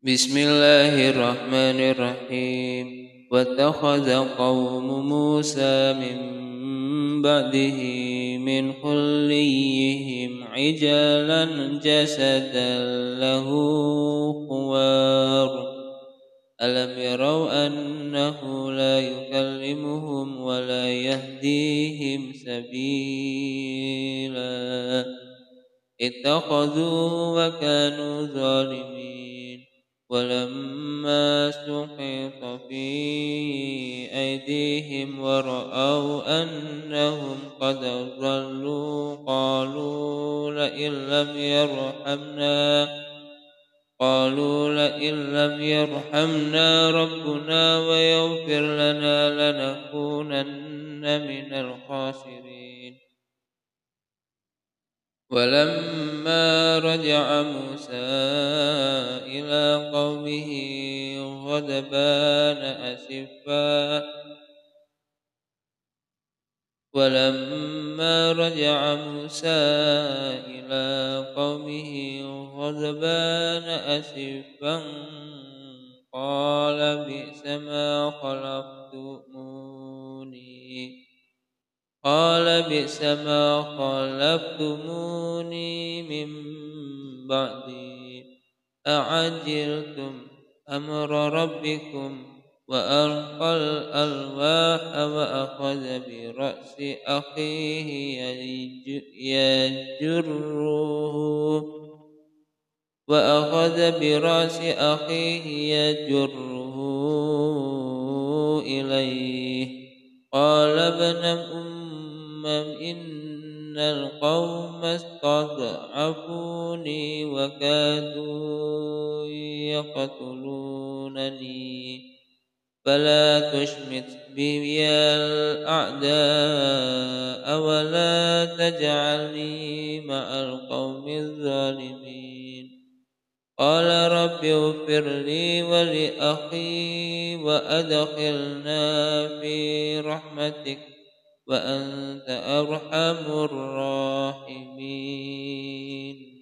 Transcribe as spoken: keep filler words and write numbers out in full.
بسم الله الرحمن الرحيم واتخذ قوم موسى من بعده من خليهم عجلا جسدا له خوار ألم يروا أنه لا يكلمهم ولا يهديهم سبيلا اتخذوا وكانوا ظالمين ولما سقط في أيديهم ورأوا أنهم قد ضلوا قالوا لئن لم يرحمنا قالوا لئن لم يرحمنا ربنا ويغفر لنا لنكونن من الخاسرين. ولما رجع موسى إلى قومه غضبان أسفا ولما رجع موسى إلى قومه غضبان أسفا قال بئس ما خلفتموني قال بئس ما خلفتموني من بعدي أعجلتم أمر ربكم وألقى الألواح وأخذ برأس أخيه يجره وأخذ برأس أخيه يجره إليه قال ابن أم إن القوم استضعفوني وكادوا يقتلونني فلا تشمت بي الأعداء ولا تجعلني مع القوم الظالمين. قال رب اغفر لي ولأخي وأدخلنا في رحمتك وأنت أرحم الراحمين.